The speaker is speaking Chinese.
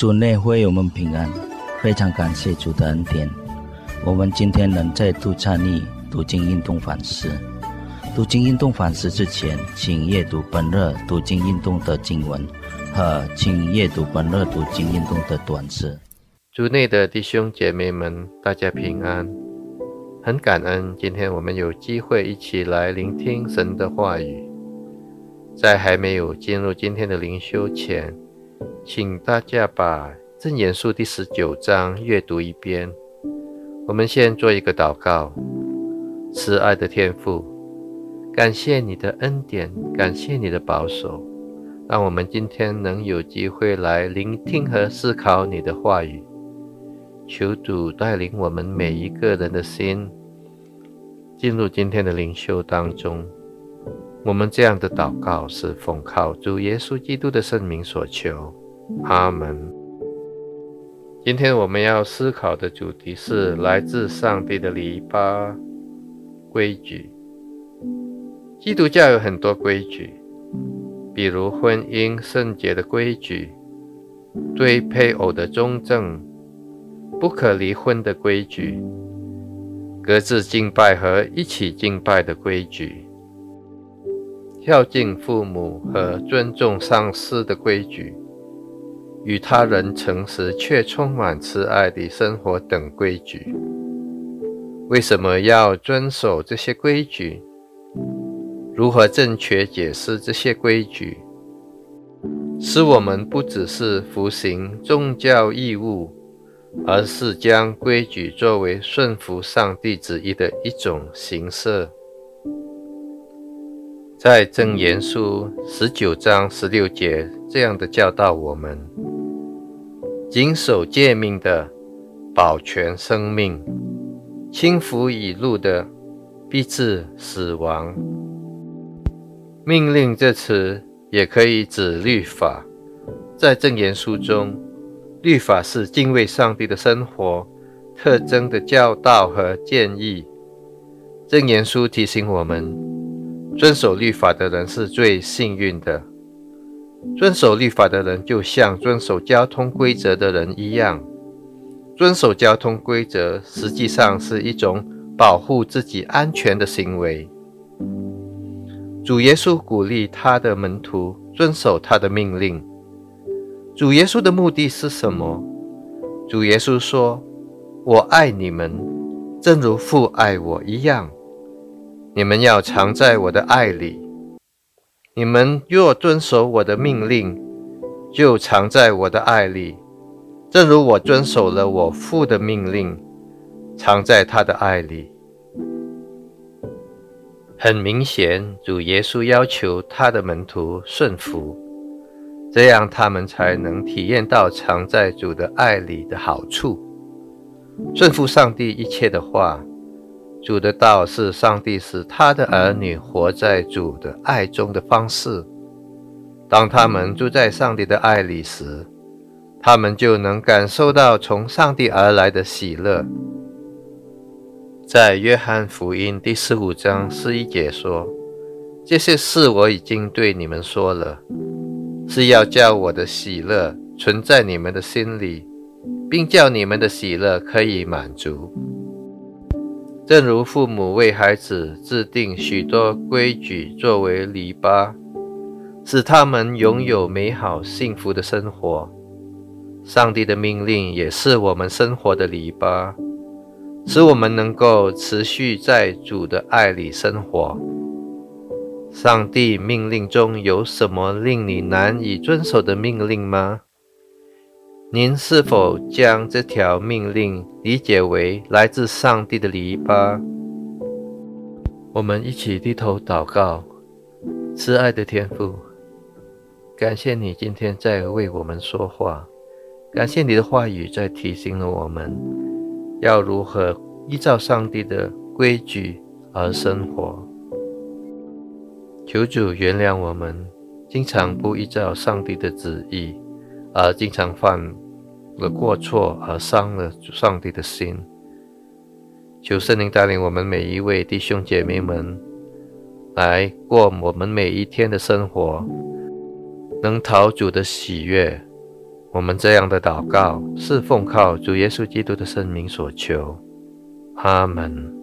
主内会我们平安，非常感谢主的恩典。我们今天能再度参与读经运动反思。读经运动反思之前，请阅读本日读经运动的经文和请阅读本日读经运动的短诗。 主内的弟兄姐妹们，大家平安。很感恩今天我们有机会一起来聆听神的话语。在还没有进入今天的灵修前，请大家把箴言书第19章阅读一遍。我们先做一个祷告。慈爱的天父，感谢你的恩典，感谢你的保守，让我们今天能有机会来聆听和思考你的话语。求主带领我们每一个人的心进入今天的灵修当中。我们这样的祷告是奉靠主耶稣基督的圣名所求，阿们。今天我们要思考的主题是来自上帝的篱笆规矩。基督教有很多规矩，比如婚姻圣洁的规矩，对配偶的忠正，不可离婚的规矩，各自敬拜和一起敬拜的规矩，孝敬父母和尊重上司的规矩，与他人诚实却充满慈爱的生活等规矩。为什么要遵守这些规矩？如何正确解释这些规矩，使我们不只是服行宗教义务，而是将规矩作为顺服上帝旨意的一种形式。在箴言书19章16节这样的教导我们：谨守诫命的，保全生命；轻浮已露的，必致死亡。命令这词也可以指律法。在箴言书中，律法是敬畏上帝的生活特征的教导和建议。箴言书提醒我们，遵守律法的人是最幸运的。遵守律法的人就像遵守交通规则的人一样。遵守交通规则实际上是一种保护自己安全的行为。主耶稣鼓励他的门徒遵守他的命令。主耶稣的目的是什么？主耶稣说：我爱你们，正如父爱我一样。你们要常在我的爱里。你们若遵守我的命令，就常在我的爱里，正如我遵守了我父的命令，常在他的爱里。很明显，主耶稣要求他的门徒顺服，这样他们才能体验到常在主的爱里的好处。顺服上帝一切的话，主的道是上帝使他的儿女活在主的爱中的方式。当他们住在上帝的爱里时，他们就能感受到从上帝而来的喜乐。在约翰福音第15章11节说：这些事我已经对你们说了，是要叫我的喜乐存在你们的心里，并叫你们的喜乐可以满足。正如父母为孩子制定许多规矩作为篱笆，使他们拥有美好幸福的生活，上帝的命令也是我们生活的篱笆，使我们能够持续在主的爱里生活。上帝命令中有什么令你难以遵守的命令吗？您是否将这条命令理解为来自上帝的篱笆？我们一起低头祷告。慈爱的天父，感谢你今天在为我们说话，感谢你的话语在提醒了我们要如何依照上帝的规矩而生活。求主原谅我们经常不依照上帝的旨意，而经常犯了过错而伤了上帝的心。求圣灵带领我们每一位弟兄姐妹们来过我们每一天的生活，能讨主的喜悦， 我们这样的祷告是奉靠主耶稣基督的圣名所求，阿们。